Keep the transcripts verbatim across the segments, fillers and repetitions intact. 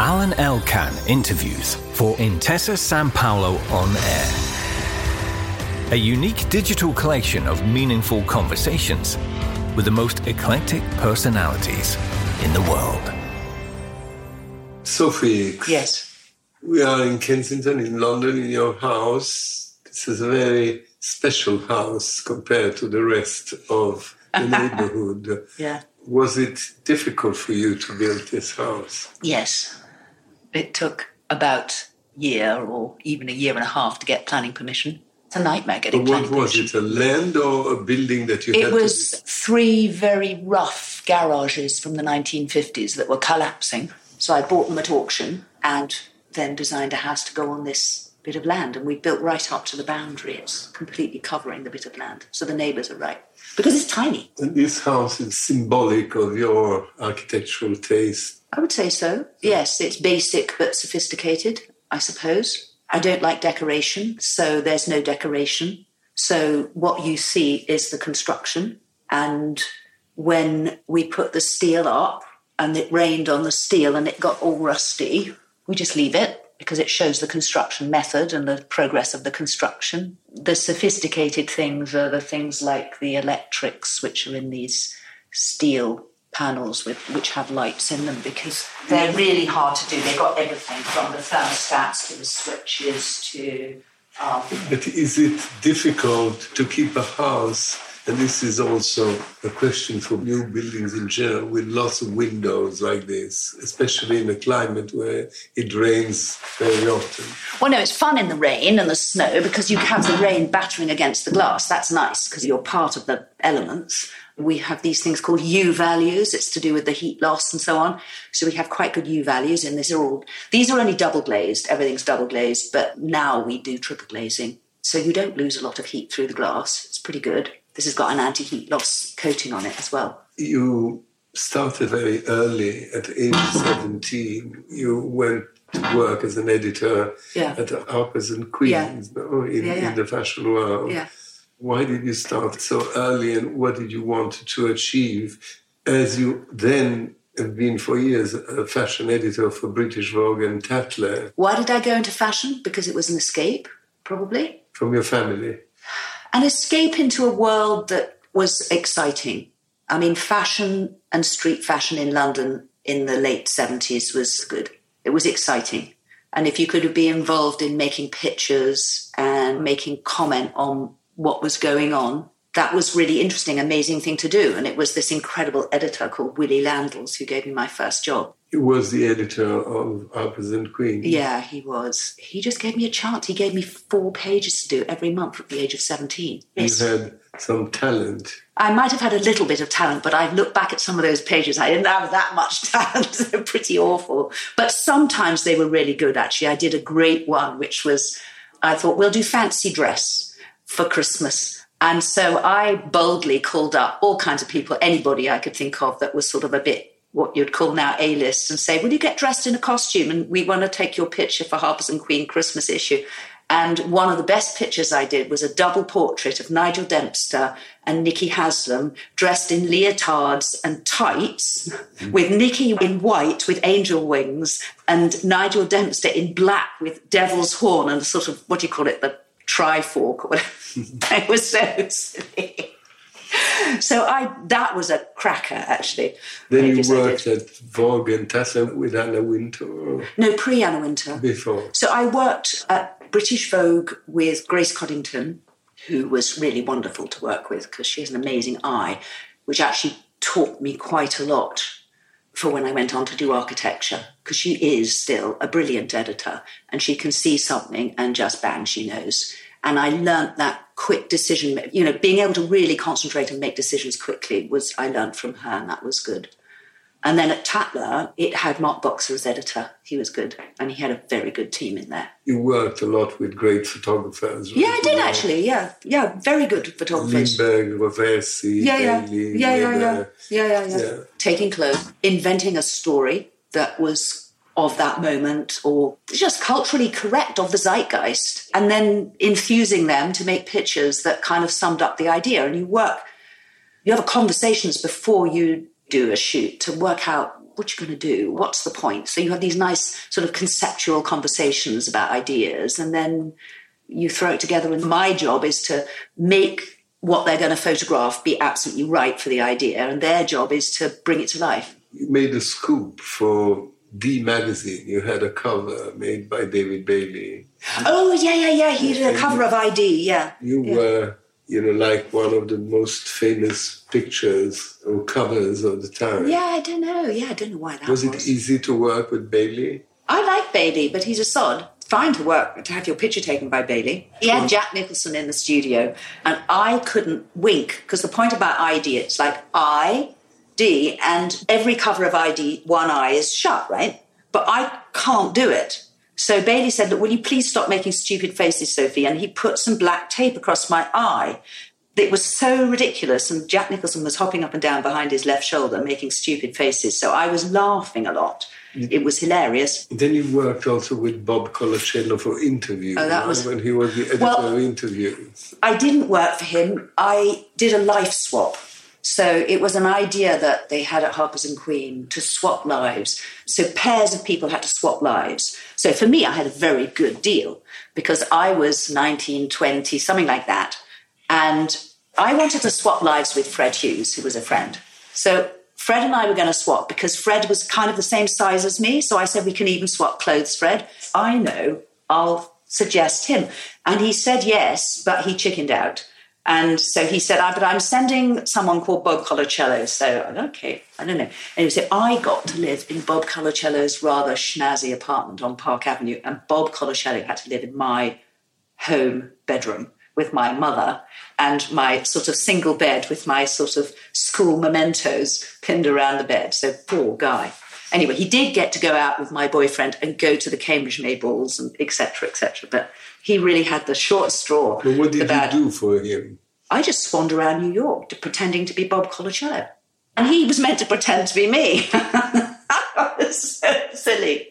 Alan Elkan interviews for Intesa Sanpaolo On Air. A unique digital collection of meaningful conversations with the most eclectic personalities in the world. Sophie. Yes. We are in Kensington, in London, in your house. This is a very special house compared to the rest of the neighborhood. Yeah. Was it difficult for you to build this house? Yes. It took about a year or even a year and a half to get planning permission. It's a nightmare getting But what planning was permission. it, a land or a building that you It had was to... three very rough garages from the nineteen fifties that were collapsing. So I bought them at auction and then designed a house to go on this bit of land. And we built right up to the boundary. It's completely covering the bit of land. So the neighbours are right. Because it's tiny. And this house is symbolic of your architectural taste. I would say so. Yes, it's basic but sophisticated, I suppose. I don't like decoration, so there's no decoration. So what you see is the construction. And when we put the steel up and it rained on the steel and it got all rusty, we just leave it because it shows the construction method and the progress of the construction. The sophisticated things are the things like the electrics, which are in these steel panels with which have lights in them because they're really hard to do. They've got everything from the thermostats to the switches to... Um, but is it difficult to keep a house, and this is also a question for new buildings in general, with lots of windows like this, especially in a climate where it rains very often? Well, no, it's fun in the rain and the snow because you have the rain battering against the glass. That's nice because you're part of the elements. We have these things called U values. It's to do with the heat loss and so on. So we have quite good U values, and these are all these are only double glazed. Everything's double glazed, but now we do triple glazing, so you don't lose a lot of heat through the glass. It's pretty good. This has got an anti-heat loss coating on it as well. You started very early, at age seventeen. You went to work as an editor yeah. at Harper's and Queens, yeah. no, in, yeah, yeah. in the fashion world. Yeah. Why did you start so early, and what did you want to achieve, as you then have been for years a fashion editor for British Vogue and Tatler? Why did I go into fashion? Because it was an escape, probably. From your family? An escape into a world that was exciting. I mean, fashion and street fashion in London in the late seventies was good. It was exciting. And if you could be involved in making pictures and making comment on what was going on, that was really interesting, amazing thing to do. And it was this incredible editor called Willie Landels who gave me my first job. He was the editor of Harper's and Queens. Yeah, he was. He just gave me a chance. He gave me four pages to do every month at the age of seventeen. Yes. You had some talent. I might have had a little bit of talent, but I look back at some of those pages. I didn't have that much talent. They're pretty awful. But sometimes they were really good, actually. I did a great one, which was, I thought, we'll do fancy dress for Christmas. And so I boldly called up all kinds of people, anybody I could think of that was sort of a bit what you'd call now A-list, and say, will you get dressed in a costume? And we want to take your picture for Harper's and Queen Christmas issue. And one of the best pictures I did was a double portrait of Nigel Dempster and Nicky Haslam dressed in leotards and tights, with Nicky in white with angel wings and Nigel Dempster in black with devil's horn and sort of, what do you call it, the trifork or whatever. It was so silly. So I that was a cracker, actually. Then you worked at Vogue and Tatler with Anna Wintour? Or no, pre-Anna Wintour. Before. So I worked at British Vogue with Grace Coddington, who was really wonderful to work with because she has an amazing eye, which actually taught me quite a lot for when I went on to do architecture, because she is still a brilliant editor and she can see something and just bang, she knows. And I learnt that quick decision, you know, being able to really concentrate and make decisions quickly was, I learnt from her, and that was good. And then at Tatler, it had Mark Boxer as editor. He was good. And he had a very good team in there. You worked a lot with great photographers. Yeah, I did actually, yeah. Yeah, very good photographers. Lindbergh, Rovessi, yeah, yeah. Bailey, yeah, yeah, yeah. Weber. yeah, yeah, yeah, yeah. Taking clothes, inventing a story that was of that moment or just culturally correct of the zeitgeist, and then infusing them to make pictures that kind of summed up the idea. And you work, you have conversations before you do a shoot to work out what you going to do? What's the point? So you have these nice sort of conceptual conversations about ideas, and then you throw it together. And my job is to make what they're going to photograph be absolutely right for the idea, and their job is to bring it to life. You made a scoop for D magazine. You had a cover made by David Bailey. Oh, yeah, yeah, yeah. He did a cover of I D, yeah. You yeah. were, you know, like one of the most famous pictures or covers of the time. Yeah, I don't know. Yeah, I don't know why that was. Was it easy to work with Bailey? I like Bailey, but he's a sod. Fine to work, to have your picture taken by Bailey. He had Jack Nicholson in the studio, and I couldn't wink, because the point about I D, it's like I, D, and every cover of I D, one eye is shut, right? But I can't do it. So Bailey said, look, will you please stop making stupid faces, Sophie? And he put some black tape across my eye. It was so ridiculous, and Jack Nicholson was hopping up and down behind his left shoulder, making stupid faces. So I was laughing a lot. It was hilarious. Then you worked also with Bob Colacello for Interview. Oh, that was... when he was the editor well, of Interviews. I didn't work for him. I did a life swap. So it was an idea that they had at Harper's and Queen to swap lives. So pairs of people had to swap lives. So for me, I had a very good deal because I was nineteen, twenty, something like that. And I wanted to swap lives with Fred Hughes, who was a friend. So Fred and I were going to swap because Fred was kind of the same size as me. So I said, we can even swap clothes, Fred. I know, I'll suggest him. And he said yes, but he chickened out. And so he said, ah, but I'm sending someone called Bob Colacello. So, okay, I don't know. And he said, I got to live in Bob Colacello's rather schnazzy apartment on Park Avenue. And Bob Colacello had to live in my home bedroom with my mother and my sort of single bed with my sort of school mementos pinned around the bed. So poor guy. Anyway, he did get to go out with my boyfriend and go to the Cambridge May balls and et cetera, et cetera. But he really had the short straw. But what did about, you do for him? I just swaned around New York to, pretending to be Bob Colacello. And he was meant to pretend to be me. That was so silly.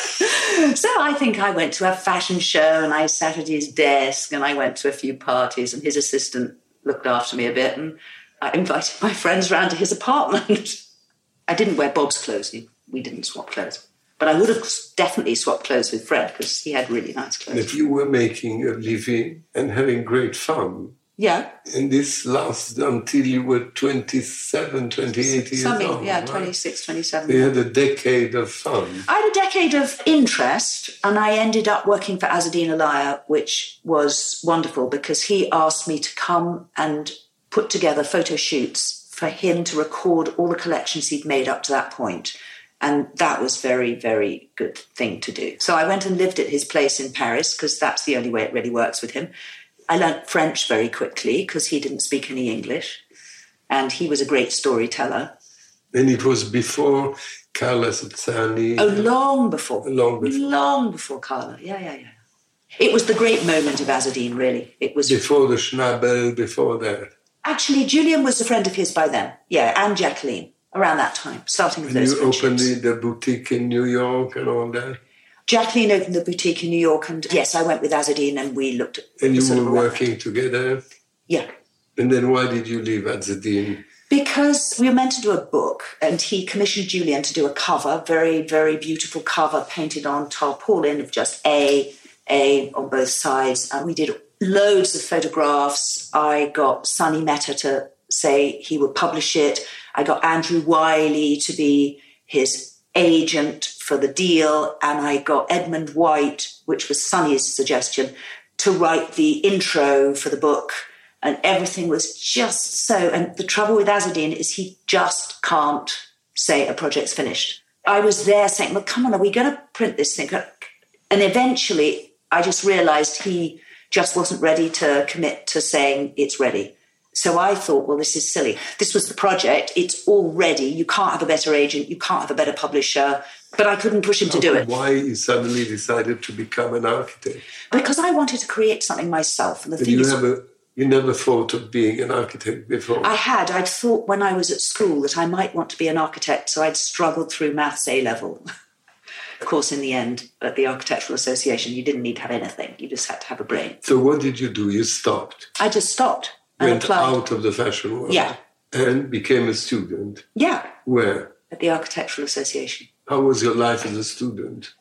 So I think I went to a fashion show and I sat at his desk and I went to a few parties and his assistant looked after me a bit and I invited my friends round to his apartment. I didn't wear Bob's clothes. We didn't swap clothes. But I would have definitely swapped clothes with Fred because he had really nice clothes. But you were making a living and having great fun. Yeah. And this lasted until you were twenty-seven, twenty-eight years Something, old. yeah, right? twenty-six, twenty-seven. You had a decade of fun. I had a decade of interest and I ended up working for Azzedine Alaïa, which was wonderful because he asked me to come and put together photo shoots for him to record all the collections he'd made up to that point. And that was very, very good thing to do. So I went and lived at his place in Paris because that's the only way it really works with him. I learnt French very quickly because he didn't speak any English. And he was a great storyteller. And it was before Carla Sozzani. Oh, long before. Long before. Long before Carla. Yeah, yeah, yeah. It was the great moment of Azzedine, really. It was before the Schnabel, before that. Actually, Julian was a friend of his by then. Yeah, and Jacqueline, around that time, starting with and those you opened friendships. the, the boutique in New York and all that? Jacqueline opened the boutique in New York, and yes, I went with Azzedine and we looked at... And you sort were of working together? Yeah. And then why did you leave Azzedine? Because we were meant to do a book, and he commissioned Julian to do a cover, very, very beautiful cover, painted on tarpaulin of just A, A on both sides. And we did loads of photographs. I got Sonny Mehta to say he would publish it. I got Andrew Wiley to be his agent for the deal, and I got Edmund White, which was Sonny's suggestion, to write the intro for the book. And everything was just so... And the trouble with Azzedine is he just can't say a project's finished. I was there saying, well, come on, are we going to print this thing? And eventually I just realised he just wasn't ready to commit to saying it's ready. So I thought, well, this is silly. This was the project. It's all ready. You can't have a better agent. You can't have a better publisher. But I couldn't push him to do it. Why you suddenly decided to become an architect? Because I wanted to create something myself. And the and thing you is... Never, you never thought of being an architect before? I had. I'd thought when I was at school that I might want to be an architect, so I'd struggled through maths A-level. Of course, in the end, at the Architectural Association, you didn't need to have anything. You just had to have a brain. So what did you do? You stopped? I just stopped and Went applied. out of the fashion world? Yeah. And became a student? Yeah. Where? at the Architectural Association. How was your life as a student?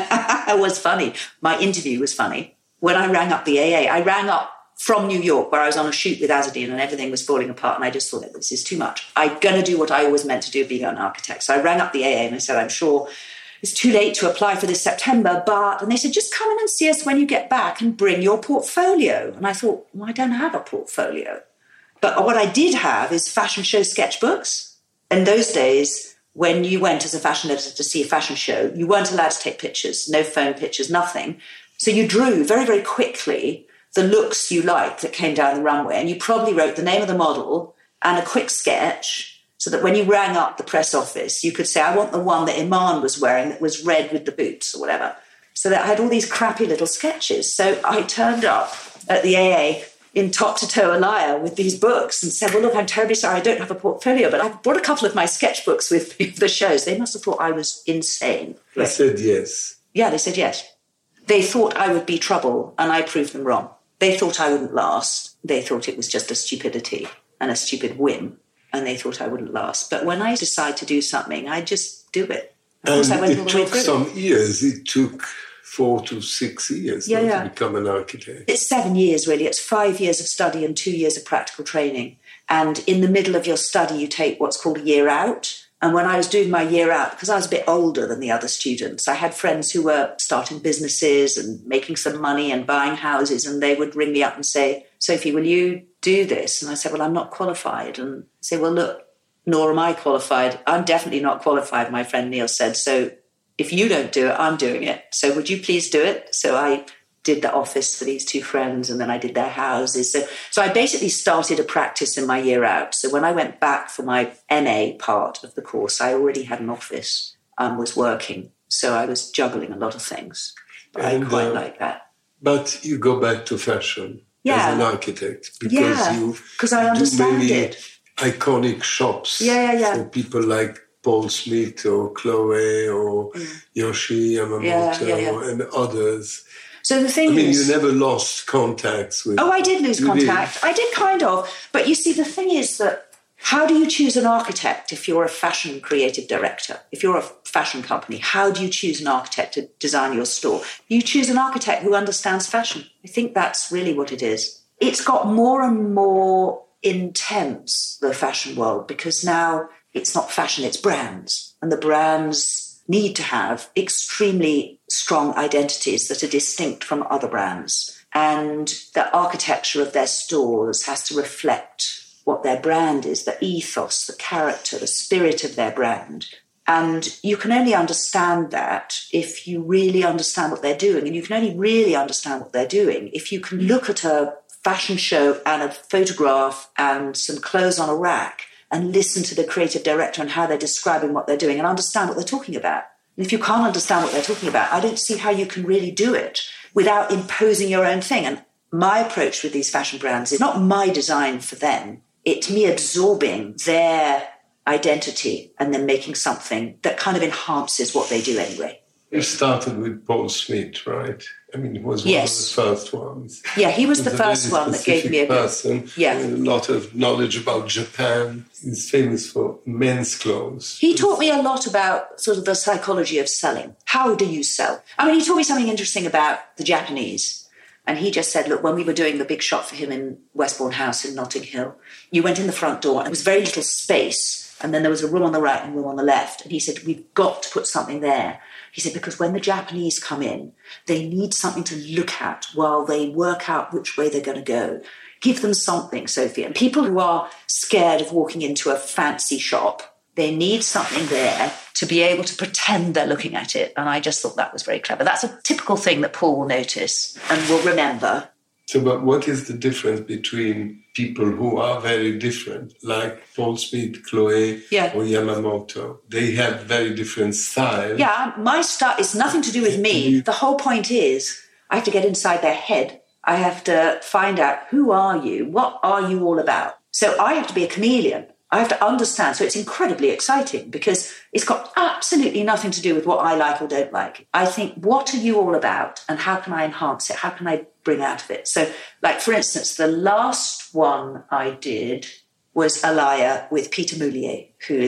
It was funny. My interview was funny. When I rang up the A A, I rang up from New York where I was on a shoot with Azzedine and everything was falling apart. And I just thought, this is too much. I'm going to do what I always meant to do, being an architect. So I rang up the A A and I said, I'm sure it's too late to apply for this September, but... And they said, just come in and see us when you get back and bring your portfolio. And I thought, well, I don't have a portfolio. But what I did have is fashion show sketchbooks. In those days, when you went as a fashion editor to see a fashion show, you weren't allowed to take pictures, no phone pictures, nothing. So you drew very, very quickly the looks you liked that came down the runway, and you probably wrote the name of the model and a quick sketch so that when you rang up the press office, you could say, I want the one that Iman was wearing that was red with the boots or whatever. So that I had all these crappy little sketches. So I turned up at the A A in top-to-toe Alaya with these books and said, well, look, I'm terribly sorry, I don't have a portfolio, but I brought a couple of my sketchbooks with me for the shows. They must have thought I was insane. They said yes. Yeah, they said yes. They thought I would be trouble, and I proved them wrong. They thought I wouldn't last. They thought it was just a stupidity and a stupid whim, and they thought I wouldn't last. But when I decide to do something, I just do it. Of course, and I went it all the way took through. some years. It took four to six years Yeah, not yeah. to become an architect. It's seven years, really. It's five years of study and two years of practical training. And in the middle of your study, you take what's called a year out. And when I was doing my year out, because I was a bit older than the other students, I had friends who were starting businesses and making some money and buying houses, and they would ring me up and say, Sophie, will you do this? And I said, well, I'm not qualified. And I say, well, look, nor am I qualified. I'm definitely not qualified, my friend Neil said. So if you don't do it, I'm doing it. So would you please do it? So I did the office for these two friends, and then I did their houses. So, so I basically started a practice in my year out. So when I went back for my M A part of the course, I already had an office and was working. So I was juggling a lot of things. But And, I quite uh, like that. But you go back to fashion Yeah. as an architect because Yeah, you 'cause I do understand many it. iconic shops Yeah, yeah, yeah. for people like Paul Smith or Chloe or Yoshi Yamamoto Yeah, yeah, yeah. and others. So the thing I mean, is... you never lost contacts with... Oh, I did lose You contact. I did kind of. But you see, the thing is that how do you choose an architect if you're a fashion creative director? If you're a fashion company, how do you choose an architect to design your store? You choose an architect who understands fashion. I think that's really what it is. It's got more and more intense, the fashion world, because now it's not fashion, it's brands. And the brands need to have extremely strong identities that are distinct from other brands. And the architecture of their stores has to reflect what their brand is, the ethos, the character, the spirit of their brand. And you can only understand that if you really understand what they're doing. And you can only really understand what they're doing if you can look at a fashion show and a photograph and some clothes on a rack and listen to the creative director and how they're describing what they're doing and understand what they're talking about. And if you can't understand what they're talking about, I don't see how you can really do it without imposing your own thing. And my approach with these fashion brands is not my design for them. It's me absorbing their identity and then making something that kind of enhances what they do anyway. You started with Paul Smith, right? I mean, he was one Yes. of the first ones. Yeah, he was He's the a first very one that gave me a specific good... person Yeah. with a lot of knowledge about Japan. He's famous for men's clothes. He taught me a lot about sort of the psychology of selling. How do you sell? I mean, he taught me something interesting about the Japanese. And he just said, look, when we were doing the big shot for him in Westbourne House in Notting Hill, you went in the front door and there was very little space. And then there was a room on the right and a room on the left. And he said, we've got to put something there. He said, because when the Japanese come in, they need something to look at while they work out which way they're going to go. Give them something, Sophie. And people who are scared of walking into a fancy shop, they need something there to be able to pretend they're looking at it. And I just thought that was very clever. That's a typical thing that Paul will notice and will remember. So, but what is the difference between people who are very different, like Paul Smith, Chloe, Yeah. or Yamamoto? They have very different styles. Yeah, my style is nothing to do with me. The whole point is I have to get inside their head. I have to find out, who are you? What are you all about? So I have to be a chameleon. I have to understand. So it's incredibly exciting because it's got absolutely nothing to do with what I like or don't like. I think, what are you all about and how can I enhance it? How can I bring out of it? So, like, for instance, the last one I did was Alaya with Peter Moulier, who is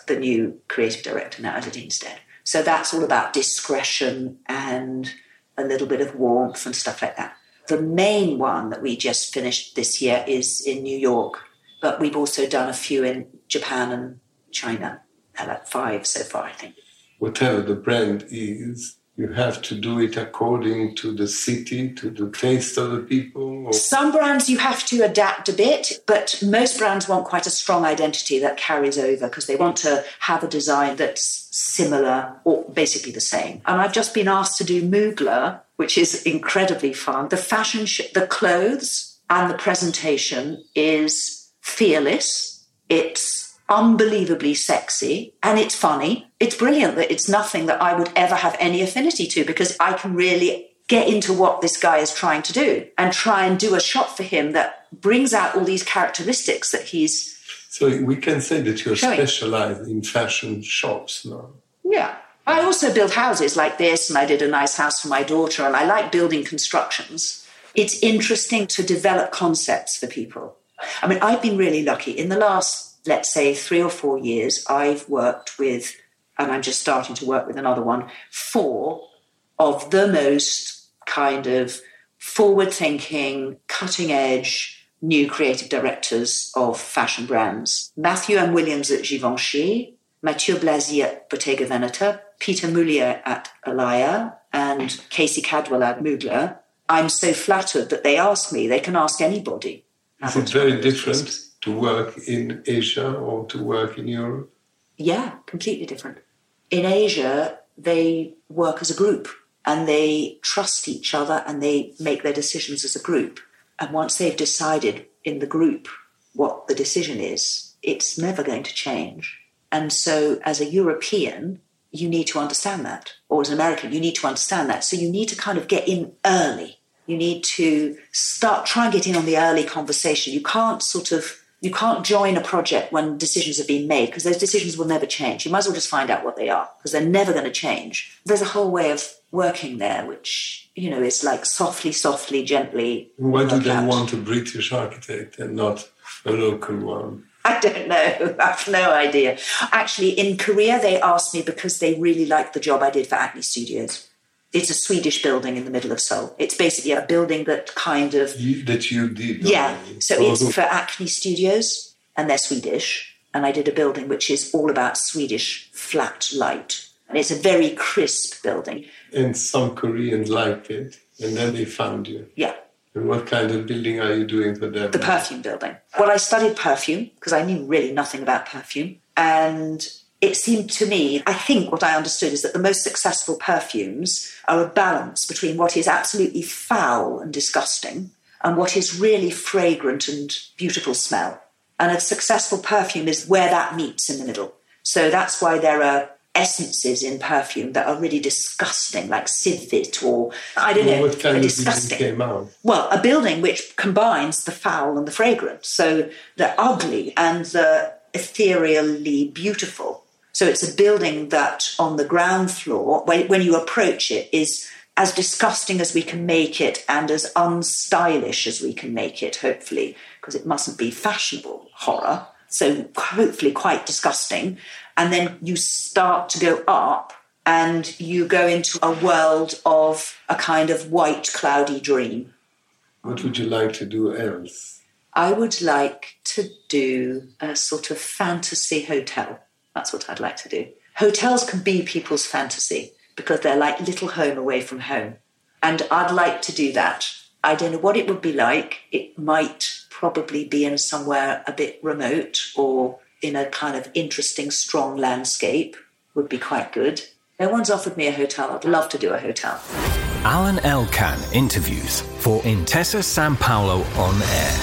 the new creative director now, Zadine Stead. So that's all about discretion and a little bit of warmth and stuff like that. The main one that we just finished this year is in New York, but we've also done a few in Japan and China, like five so far, I think. Whatever the brand is, you have to do it according to the city, to the taste of the people? Or? Some brands you have to adapt a bit, but most brands want quite a strong identity that carries over because they want to have a design that's similar or basically the same. And I've just been asked to do Mugler, which is incredibly fun. The fashion, sh- the clothes and the presentation is fearless. It's unbelievably sexy and it's funny. It's brilliant that it's nothing that I would ever have any affinity to because I can really get into what this guy is trying to do and try and do a shot for him that brings out all these characteristics that he's... So we can say that you're showing. Specialized in fashion shops now. Yeah. I also build houses like this and I did a nice house for my daughter and I like building constructions. It's interesting to develop concepts for people. I mean, I've been really lucky. In the last, let's say, three or four years, I've worked with, and I'm just starting to work with another one, four of the most kind of forward-thinking, cutting-edge, new creative directors of fashion brands. Matthew M. Williams at Givenchy, Mathieu Blasi at Bottega Veneta, Peter Moulier at Alaïa, and Casey Cadwell at Mugler. I'm so flattered that they ask me. They can ask anybody. Is it very different to work in Asia or to work in Europe? Yeah, completely different. In Asia, they work as a group and they trust each other and they make their decisions as a group. And once they've decided in the group what the decision is, it's never going to change. And so as a European, you need to understand that. Or as an American, you need to understand that. So you need to kind of get in early. You need to start, try and get in on the early conversation. You can't sort of, you can't join a project when decisions have been made because those decisions will never change. You might as well just find out what they are because they're never going to change. There's a whole way of working there, which, you know, is like softly, softly, gently. Why do they out. want a British architect and not a local one? I don't know. I have no idea. Actually, in Korea, they asked me because they really liked the job I did for Acne Studios. It's a Swedish building in the middle of Seoul. It's basically a building that kind of... You, that you did. Yeah. So oh. It's for Acne Studios, and they're Swedish. And I did a building which is all about Swedish flat light. And it's a very crisp building. And some Koreans liked it, and then they found you. Yeah. And what kind of building are you doing for them? The perfume building. Well, I studied perfume because I knew really nothing about perfume. And it seemed to me, I think what I understood is that the most successful perfumes are a balance between what is absolutely foul and disgusting and what is really fragrant and beautiful smell. And a successful perfume is where that meets in the middle. So that's why there are essences in perfume that are really disgusting, like Sidvit or, I don't well, know, what kind of disgusting. Came out? Well, a building which combines the foul and the fragrant. So the ugly and the ethereally beautiful. So it's a building that on the ground floor, when, when you approach it, is as disgusting as we can make it and as unstylish as we can make it, hopefully, because it mustn't be fashionable horror. So hopefully quite disgusting. And then you start to go up and you go into a world of a kind of white, cloudy dream. What would you like to do else? I would like to do a sort of fantasy hotel. That's what I'd like to do. Hotels can be people's fantasy because they're like little home away from home. And I'd like to do that. I don't know what it would be like. It might probably be in somewhere a bit remote or in a kind of interesting, strong landscape would be quite good. No one's offered me a hotel. I'd love to do a hotel. Alan Elkan interviews for Intesa Sanpaolo On Air.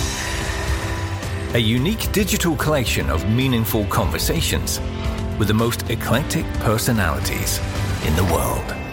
A unique digital collection of meaningful conversations with the most eclectic personalities in the world.